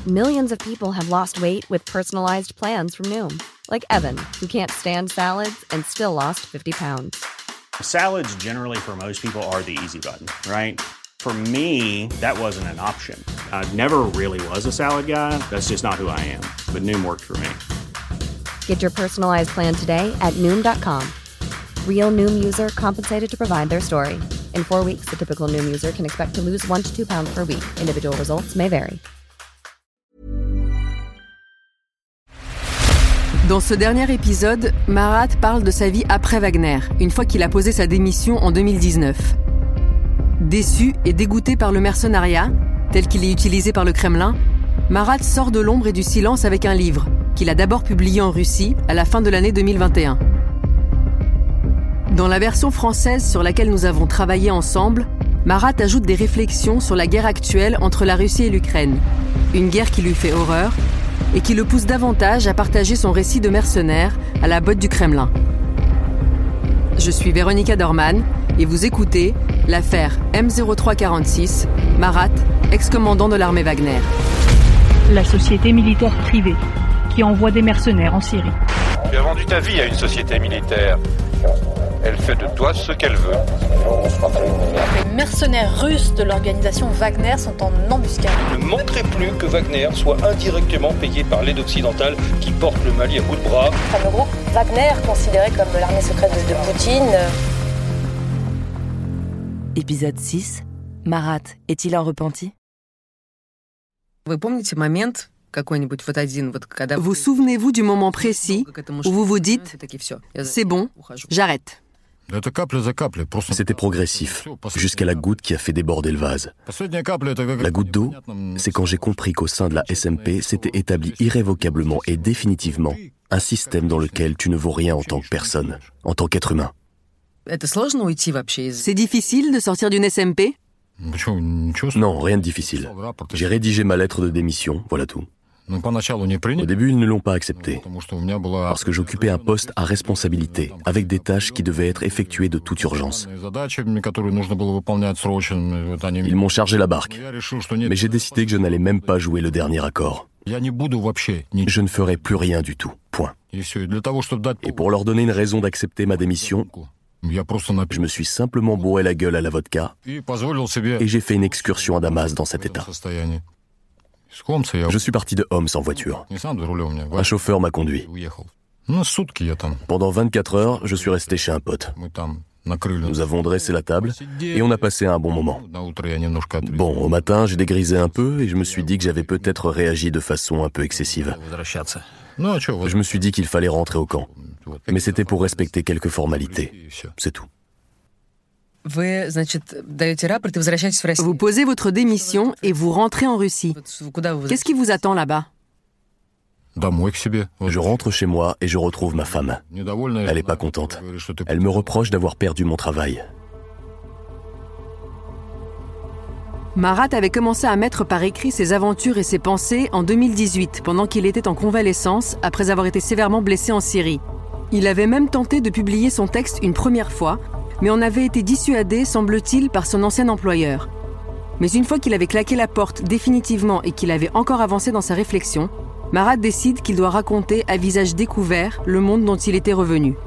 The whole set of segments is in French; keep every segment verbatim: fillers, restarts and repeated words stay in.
Millions of people have lost weight with personalized plans from Noom. Like Evan, who can't stand salads and still lost fifty pounds. Salads generally for most people are the easy button, right? For me, that wasn't an option. I never really was a salad guy. That's just not who I am. But Noom worked for me. Get your personalized plan today at Noom dot com. Real Noom user compensated to provide their story. In four weeks, the typical Noom user can expect to lose one to two pounds per week. Individual results may vary. Dans ce dernier épisode, Marat parle de sa vie après Wagner, une fois qu'il a posé sa démission en deux mille dix-neuf. Déçu et dégoûté par le mercenariat, tel qu'il est utilisé par le Kremlin, Marat sort de l'ombre et du silence avec un livre, qu'il a d'abord publié en Russie à la fin de l'année deux mille vingt et un. Dans la version française sur laquelle nous avons travaillé ensemble, Marat ajoute des réflexions sur la guerre actuelle entre la Russie et l'Ukraine, une guerre qui lui fait horreur et qui le pousse davantage à partager son récit de mercenaire à la botte du Kremlin. Je suis Véronica Dorman et vous écoutez l'affaire M zéro trois quarante-six, Marat, ex-commandant de l'armée Wagner. La société militaire privée qui envoie des mercenaires en Syrie. Tu as vendu ta vie à une société militaire. Elle fait de toi ce qu'elle veut. Les mercenaires russes de l'organisation Wagner sont en embuscade. Il ne manquerait plus que Wagner soit indirectement payé par l'aide occidentale qui porte le Mali à bout de bras. Le groupe Wagner, considéré comme l'armée secrète de Poutine. Épisode six. Marat est-il un repenti? Vous souvenez-vous du moment précis où vous vous dites « c'est bon, j'arrête ». C'était progressif, jusqu'à la goutte qui a fait déborder le vase. La goutte d'eau, c'est quand j'ai compris qu'au sein de la S M P s'était établi irrévocablement et définitivement un système dans lequel tu ne vaux rien en tant que personne, en tant qu'être humain. C'est difficile de sortir d'une S M P? Non, rien de difficile. J'ai rédigé ma lettre de démission, voilà tout. Au début, ils ne l'ont pas accepté, parce que j'occupais un poste à responsabilité, avec des tâches qui devaient être effectuées de toute urgence. Ils m'ont chargé la barque, mais j'ai décidé que je n'allais même pas jouer le dernier accord. Je ne ferai plus rien du tout, point. Et pour leur donner une raison d'accepter ma démission, je me suis simplement bourré la gueule à la vodka et j'ai fait une excursion à Damas dans cet état. Je suis parti de Homs en voiture. Un chauffeur m'a conduit. Pendant vingt-quatre heures, je suis resté chez un pote. Nous avons dressé la table et on a passé un bon moment. Bon, au matin, j'ai dégrisé un peu et je me suis dit que j'avais peut-être réagi de façon un peu excessive. Je me suis dit qu'il fallait rentrer au camp. Mais c'était pour respecter quelques formalités. C'est tout. Vous posez votre démission et vous rentrez en Russie. Qu'est-ce qui vous attend là-bas? Je rentre chez moi et je retrouve ma femme. Elle n'est pas contente. Elle me reproche d'avoir perdu mon travail. Marat avait commencé à mettre par écrit ses aventures et ses pensées en deux mille dix-huit, pendant qu'il était en convalescence après avoir été sévèrement blessé en Syrie. Il avait même tenté de publier son texte une première fois, mais en avait été dissuadé, semble-t-il, par son ancien employeur. Mais une fois qu'il avait claqué la porte définitivement et qu'il avait encore avancé dans sa réflexion, Marat décide qu'il doit raconter à visage découvert le monde dont il était revenu.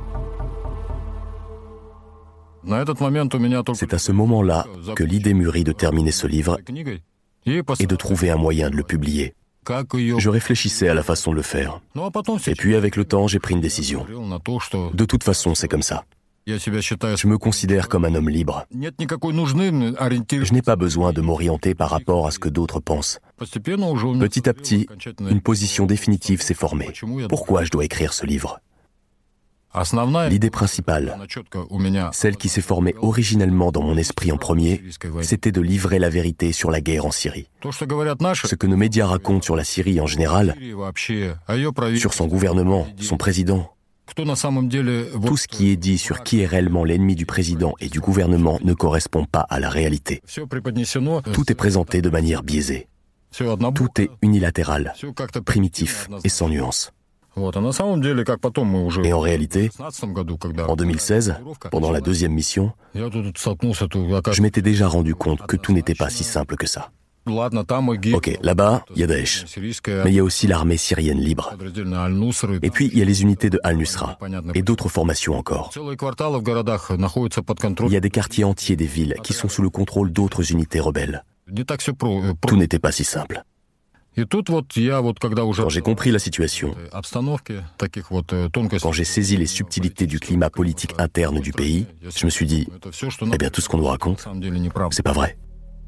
C'est à ce moment-là que l'idée mûrit de terminer ce livre et de trouver un moyen de le publier. Je réfléchissais à la façon de le faire. Et puis, avec le temps, j'ai pris une décision. De toute façon, c'est comme ça. Je me considère comme un homme libre. Je n'ai pas besoin de m'orienter par rapport à ce que d'autres pensent. Petit à petit, une position définitive s'est formée. Pourquoi je dois écrire ce livre ? L'idée principale, celle qui s'est formée originellement dans mon esprit en premier, c'était de livrer la vérité sur la guerre en Syrie. Ce que nos médias racontent sur la Syrie en général, sur son gouvernement, son président, tout ce qui est dit sur qui est réellement l'ennemi du président et du gouvernement ne correspond pas à la réalité. Tout est présenté de manière biaisée. Tout est unilatéral, primitif et sans nuance. Et en réalité, en deux mille seize, pendant la deuxième mission, je m'étais déjà rendu compte que tout n'était pas si simple que ça. Ok, là-bas, il y a Daesh. Mais il y a aussi l'armée syrienne libre. Et puis, il y a les unités de Al-Nusra. Et d'autres formations encore. Il y a des quartiers entiers des villes qui sont sous le contrôle d'autres unités rebelles. Tout n'était pas si simple. Quand j'ai compris la situation, quand j'ai saisi les subtilités du climat politique interne du pays, je me suis dit, eh bien tout ce qu'on nous raconte, c'est pas vrai.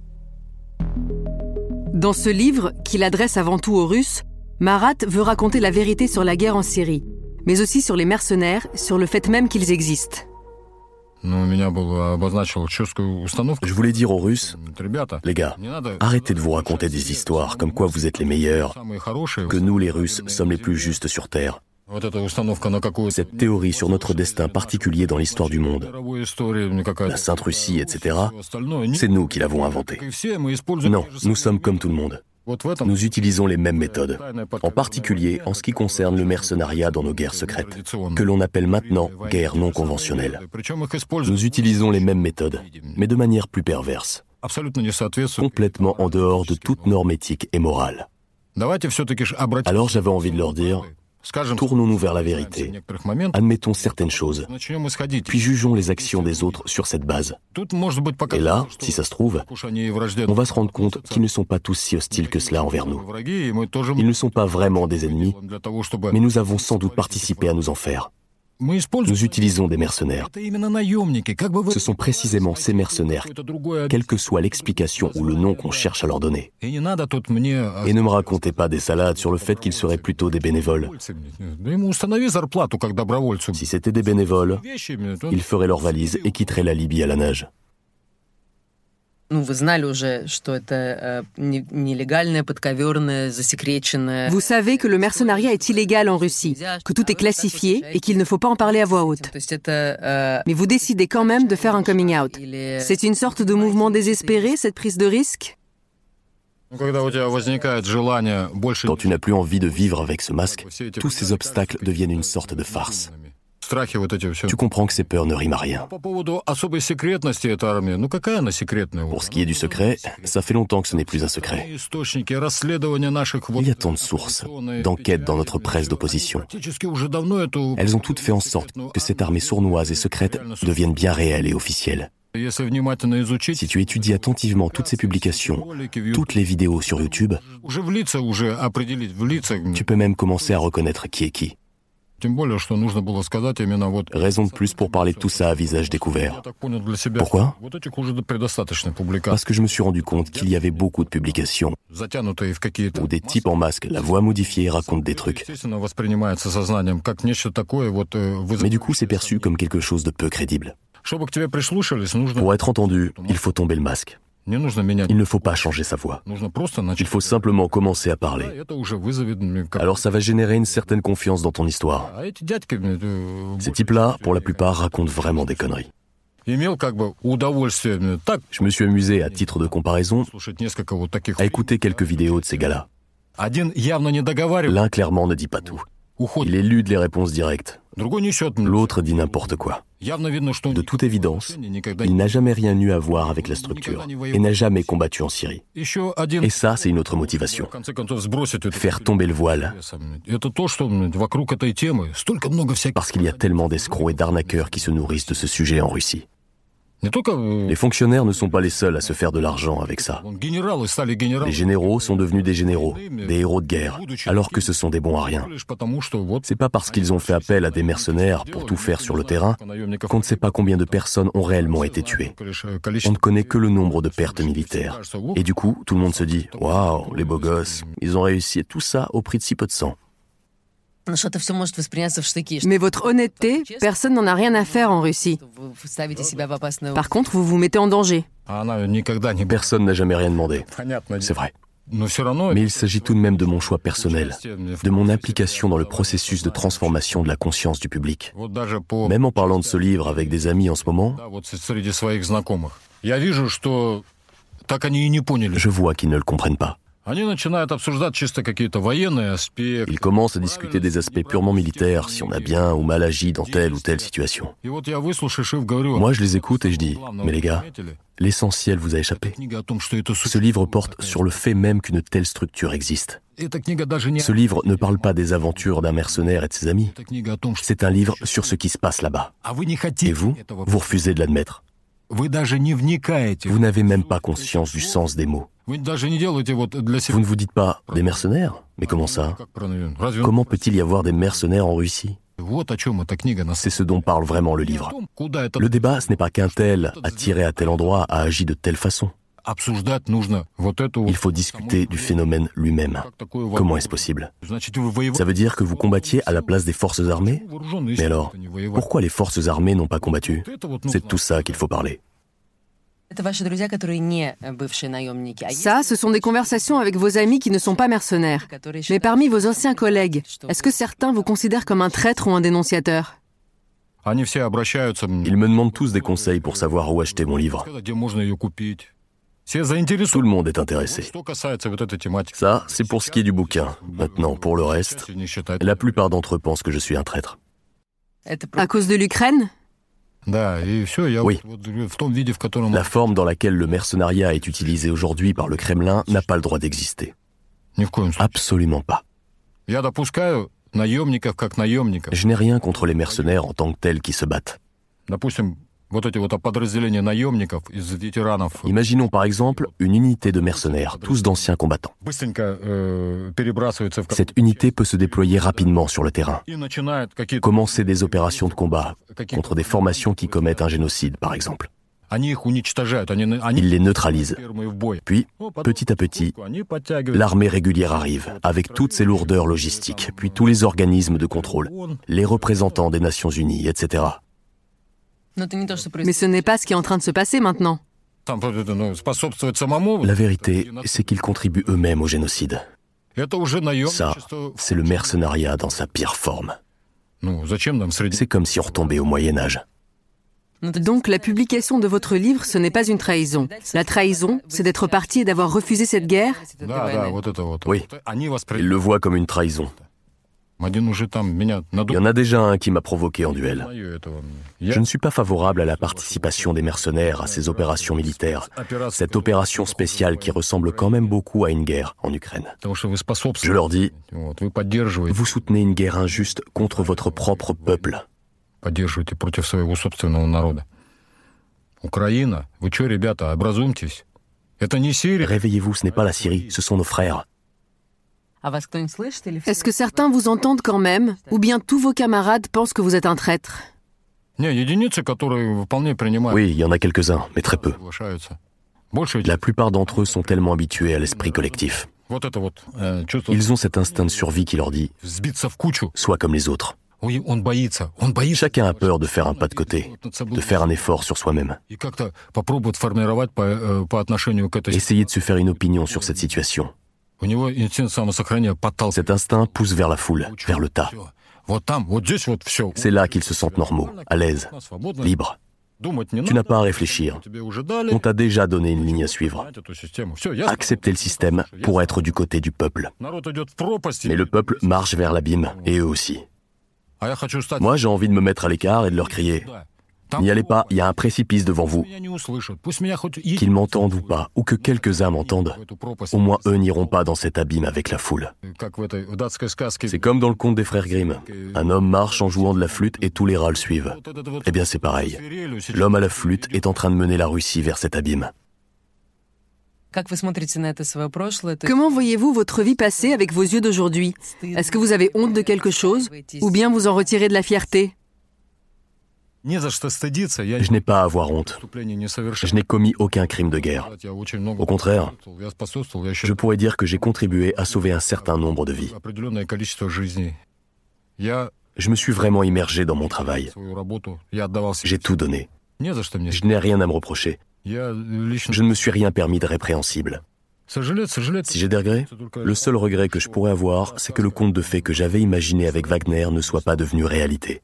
Dans ce livre, qu'il adresse avant tout aux Russes, Marat veut raconter la vérité sur la guerre en Syrie, mais aussi sur les mercenaires, sur le fait même qu'ils existent. Je voulais dire aux Russes, les gars, arrêtez de vous raconter des histoires comme quoi vous êtes les meilleurs, que nous les Russes sommes les plus justes sur Terre. Cette théorie sur notre destin particulier dans l'histoire du monde, la Sainte Russie, et cetera, c'est nous qui l'avons inventée. Non, nous sommes comme tout le monde. Nous utilisons les mêmes méthodes, en particulier en ce qui concerne le mercenariat dans nos guerres secrètes, que l'on appelle maintenant guerres non conventionnelles. Nous utilisons les mêmes méthodes, mais de manière plus perverse, complètement en dehors de toute norme éthique et morale. Alors j'avais envie de leur dire, tournons-nous vers la vérité, admettons certaines choses, puis jugeons les actions des autres sur cette base. Et là, si ça se trouve, on va se rendre compte qu'ils ne sont pas tous si hostiles que cela envers nous. Ils ne sont pas vraiment des ennemis, mais nous avons sans doute participé à nous en faire. Nous utilisons des mercenaires. Ce sont précisément ces mercenaires, quelle que soit l'explication ou le nom qu'on cherche à leur donner. Et ne me racontez pas des salades sur le fait qu'ils seraient plutôt des bénévoles. Si c'était des bénévoles, ils feraient leurs valises et quitteraient la Libye à la nage. Vous savez que le mercenariat est illégal en Russie, que tout est classifié et qu'il ne faut pas en parler à voix haute. Mais vous décidez quand même de faire un coming out. C'est une sorte de mouvement désespéré, cette prise de risque ? Quand tu n'as plus envie de vivre avec ce masque, tous ces obstacles deviennent une sorte de farce. Tu comprends que ces peurs ne riment à rien. Pour ce qui est du secret, ça fait longtemps que ce n'est plus un secret. Il y a tant de sources, d'enquêtes dans notre presse d'opposition. Elles ont toutes fait en sorte que cette armée sournoise et secrète devienne bien réelle et officielle. Si tu étudies attentivement toutes ces publications, toutes les vidéos sur YouTube, tu peux même commencer à reconnaître qui est qui. Raison de plus pour parler de tout ça à visage découvert. Pourquoi ? Parce que je me suis rendu compte qu'il y avait beaucoup de publications où des types en masque, la voix modifiée, racontent des trucs. Mais du coup, c'est perçu comme quelque chose de peu crédible. Pour être entendu, il faut tomber le masque. Il ne faut pas changer sa voix. Il faut simplement commencer à parler. Alors ça va générer une certaine confiance dans ton histoire. Ces types-là, pour la plupart, racontent vraiment des conneries. Je me suis amusé, à titre de comparaison, à écouter quelques vidéos de ces gars-là. L'un, clairement, ne dit pas tout. Il élude les réponses directes. L'autre dit n'importe quoi. De toute évidence, il n'a jamais rien eu à voir avec la structure et n'a jamais combattu en Syrie. Et ça, c'est une autre motivation. Faire tomber le voile. Parce qu'il y a tellement d'escrocs et d'arnaqueurs qui se nourrissent de ce sujet en Russie. Les fonctionnaires ne sont pas les seuls à se faire de l'argent avec ça. Les généraux sont devenus des généraux, des héros de guerre, alors que ce sont des bons à rien. C'est pas parce qu'ils ont fait appel à des mercenaires pour tout faire sur le terrain qu'on ne sait pas combien de personnes ont réellement été tuées. On ne connaît que le nombre de pertes militaires. Et du coup, tout le monde se dit « Waouh, les beaux gosses, ils ont réussi tout ça au prix de si peu de sang. » Mais votre honnêteté, personne n'en a rien à faire en Russie. Par contre, vous vous mettez en danger. Personne n'a jamais rien demandé. C'est vrai. Mais il s'agit tout de même de mon choix personnel, de mon implication dans le processus de transformation de la conscience du public. Même en parlant de ce livre avec des amis en ce moment, je vois qu'ils ne le comprennent pas. Ils commencent à discuter des aspects purement militaires, si on a bien ou mal agi dans telle ou telle situation. Moi, je les écoute et je dis, mais les gars, L'essentiel vous a échappé. Ce livre porte sur le fait même qu'une telle structure existe. Ce livre ne parle pas des aventures d'un mercenaire et de ses amis. C'est un livre sur ce qui se passe là-bas. Et vous, vous refusez de l'admettre. Vous n'avez même pas conscience du sens des mots. Vous ne vous dites pas « des mercenaires » ? Mais comment ça ? Comment peut-il y avoir des mercenaires en Russie ? C'est ce dont parle vraiment le livre. Le débat, ce n'est pas qu'un tel, attiré à tel endroit, a agi de telle façon. Il faut discuter du phénomène lui-même. Comment est-ce possible ? Ça veut dire que vous combattiez à la place des forces armées ? Mais alors, pourquoi les forces armées n'ont pas combattu ? C'est de tout ça qu'il faut parler. Ça, ce sont des conversations avec vos amis qui ne sont pas mercenaires. Mais parmi vos anciens collègues, est-ce que certains vous considèrent comme un traître ou un dénonciateur ? Ils me demandent tous des conseils pour savoir où acheter mon livre. Tout le monde est intéressé. Ça, c'est pour ce qui est du bouquin. Maintenant, pour le reste, la plupart d'entre eux pensent que je suis un traître. À cause de l'Ukraine ? Oui. La forme dans laquelle le mercenariat est utilisé aujourd'hui par le Kremlin n'a pas le droit d'exister. Absolument pas. Je n'ai rien contre les mercenaires en tant que tels qui se battent. Imaginons par exemple une unité de mercenaires, tous d'anciens combattants. Cette unité peut se déployer rapidement sur le terrain, commencer des opérations de combat contre des formations qui commettent un génocide, par exemple. Ils les neutralisent. Puis, petit à petit, l'armée régulière arrive, avec toutes ses lourdeurs logistiques, puis tous les organismes de contrôle, les représentants des Nations Unies, et cetera. Mais ce n'est pas ce qui est en train de se passer maintenant. La vérité, c'est qu'ils contribuent eux-mêmes au génocide. Ça, c'est le mercenariat dans sa pire forme. C'est comme si on retombait au Moyen-Âge. Donc la publication de votre livre, ce n'est pas une trahison. La trahison, c'est d'être parti et d'avoir refusé cette guerre ? Oui, ils le voient comme une trahison. Il y en a déjà un qui m'a provoqué en duel. Je ne suis pas favorable à la participation des mercenaires à ces opérations militaires, cette opération spéciale qui ressemble quand même beaucoup à une guerre en Ukraine. Je leur dis, vous soutenez une guerre injuste contre votre propre peuple. Réveillez-vous, ce n'est pas la Syrie, ce sont nos frères. Est-ce que certains vous entendent quand même, ou bien tous vos camarades pensent que vous êtes un traître ? Oui, il y en a quelques-uns, mais très peu. La plupart d'entre eux sont tellement habitués à l'esprit collectif. Ils ont cet instinct de survie qui leur dit « sois comme les autres ». Chacun a peur de faire un pas de côté, de faire un effort sur soi-même. Essayez de se faire une opinion sur cette situation. Cet instinct pousse vers la foule, vers le tas. C'est là qu'ils se sentent normaux, à l'aise, libres. Tu n'as pas à réfléchir. On t'a déjà donné une ligne à suivre. Accepter le système pour être du côté du peuple. Mais le peuple marche vers l'abîme, et eux aussi. Moi, j'ai envie de me mettre à l'écart et de leur crier « N'y allez pas, il y a un précipice devant vous. » Qu'ils m'entendent ou pas, ou que quelques-uns m'entendent, au moins eux n'iront pas dans cet abîme avec la foule. C'est comme dans le conte des frères Grimm. Un homme marche en jouant de la flûte et tous les rats le suivent. Eh bien, c'est pareil. L'homme à la flûte est en train de mener la Russie vers cet abîme. Comment voyez-vous votre vie passée avec vos yeux d'aujourd'hui ? Est-ce que vous avez honte de quelque chose, ou bien vous en retirez de la fierté ? Je n'ai pas à avoir honte. Je n'ai commis aucun crime de guerre. Au contraire, je pourrais dire que j'ai contribué à sauver un certain nombre de vies. Je me suis vraiment immergé dans mon travail. J'ai tout donné. Je n'ai rien à me reprocher. Je ne me suis rien permis de répréhensible. Si j'ai des regrets, le seul regret que je pourrais avoir, c'est que le conte de fées que j'avais imaginé avec Wagner ne soit pas devenu réalité.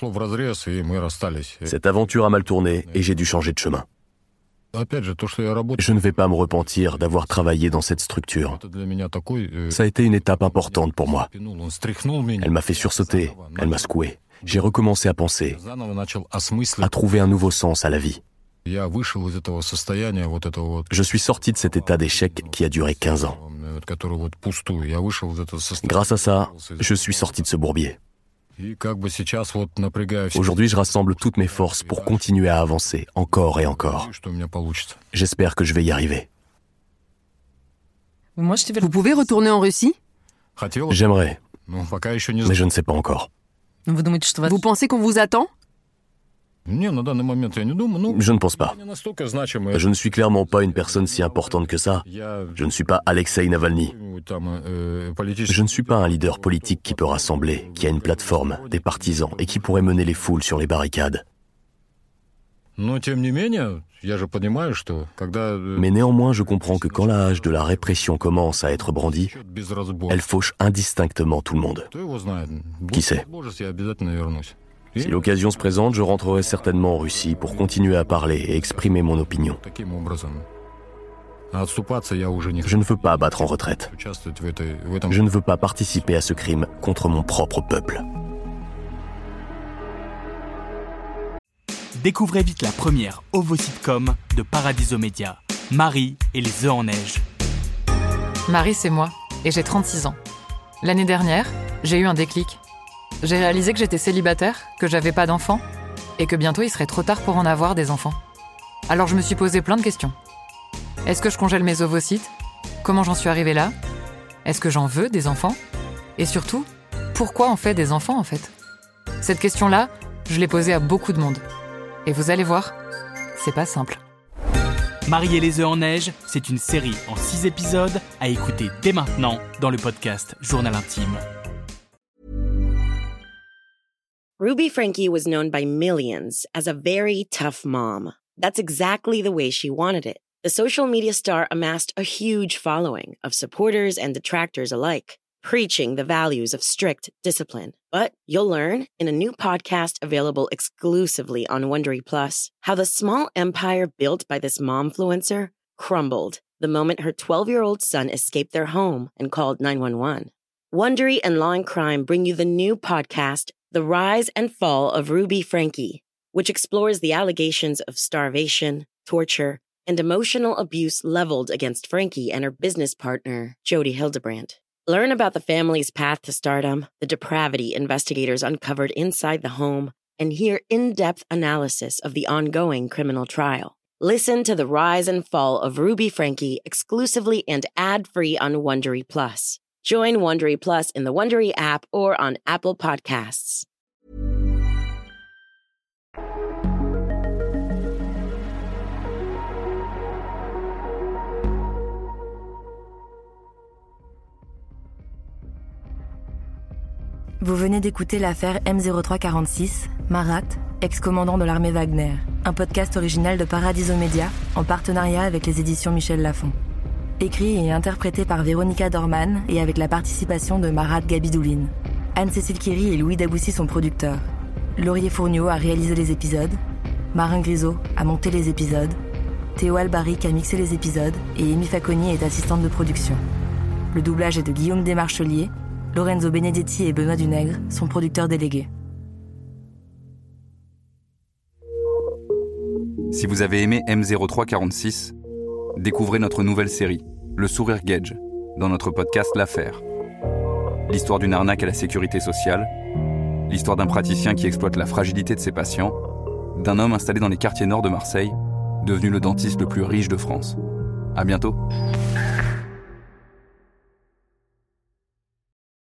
Cette aventure a mal tourné et j'ai dû changer de chemin. Je ne vais pas me repentir d'avoir travaillé dans cette structure. Ça a été une étape importante pour moi. Elle m'a fait sursauter, elle m'a secoué. J'ai recommencé à penser, à trouver un nouveau sens à la vie. Je suis sorti de cet état d'échec qui a duré quinze ans. Grâce à ça, je suis sorti de ce bourbier. Aujourd'hui, je rassemble toutes mes forces pour continuer à avancer, encore et encore. J'espère que je vais y arriver. Vous pouvez retourner en Russie ? J'aimerais, mais je ne sais pas encore. Vous pensez qu'on vous attend ? Je ne pense pas. Je ne suis clairement pas une personne si importante que ça. Je ne suis pas Alexei Navalny. Je ne suis pas un leader politique qui peut rassembler, qui a une plateforme, des partisans et qui pourrait mener les foules sur les barricades. Mais néanmoins, je comprends que quand la hache de la répression commence à être brandie, elle fauche indistinctement tout le monde. Qui sait ? Si l'occasion se présente, je rentrerai certainement en Russie pour continuer à parler et exprimer mon opinion. Je ne veux pas battre en retraite. Je ne veux pas participer à ce crime contre mon propre peuple. Découvrez vite la première ovo-sitcom de Paradiso Media, Marie et les œufs en neige. Marie, c'est moi, et j'ai trente-six ans. L'année dernière, j'ai eu un déclic. J'ai réalisé que j'étais célibataire, que j'avais pas d'enfants, et que bientôt il serait trop tard pour en avoir des enfants. Alors je me suis posé plein de questions. Est-ce que je congèle mes ovocytes ? Comment j'en suis arrivée là ? Est-ce que j'en veux des enfants ? Et surtout, pourquoi on fait des enfants en fait ? Cette question-là, je l'ai posée à beaucoup de monde. Et vous allez voir, c'est pas simple. Marie et les œufs en neige, c'est une série en six épisodes à écouter dès maintenant dans le podcast Journal Intime. Ruby Franke was known by millions as a very tough mom. That's exactly the way she wanted it. The social media star amassed a huge following of supporters and detractors alike, preaching the values of strict discipline. But you'll learn in a new podcast available exclusively on Wondery Plus how the small empire built by this momfluencer crumbled the moment her twelve-year-old son escaped their home and called nine one one. Wondery and Law and Crime bring you the new podcast, The Rise and Fall of Ruby Franke, which explores the allegations of starvation, torture, and emotional abuse leveled against Franke and her business partner, Jody Hildebrandt. Learn about the family's path to stardom, the depravity investigators uncovered inside the home, and hear in-depth analysis of the ongoing criminal trial. Listen to The Rise and Fall of Ruby Franke exclusively and ad-free on Wondery Plus. Join Wondery Plus in the Wondery app or on Apple Podcasts. Vous venez d'écouter l'affaire M zéro trois quarante-six, Marat, ex-commandant de l'armée Wagner, un podcast original de Paradiso Media en partenariat avec les éditions Michel Lafon. Écrit et interprété par Véronica Dorman et avec la participation de Marat Gabidouline. Anne-Cécile Kiri et Louis Daboussi sont producteurs. Laurier Fourniot a réalisé les épisodes. Marin Grisot a monté les épisodes. Théo Albaric a mixé les épisodes et Amy Faconnier est assistante de production. Le doublage est de Guillaume Desmarchelier. Lorenzo Benedetti et Benoît Dunègre sont producteurs délégués. Si vous avez aimé M zéro trois quarante-six, découvrez notre nouvelle série, Le Sourire Gage, dans notre podcast L'Affaire. L'histoire d'une arnaque à la sécurité sociale, l'histoire d'un praticien qui exploite la fragilité de ses patients, d'un homme installé dans les quartiers nord de Marseille, devenu le dentiste le plus riche de France. À bientôt.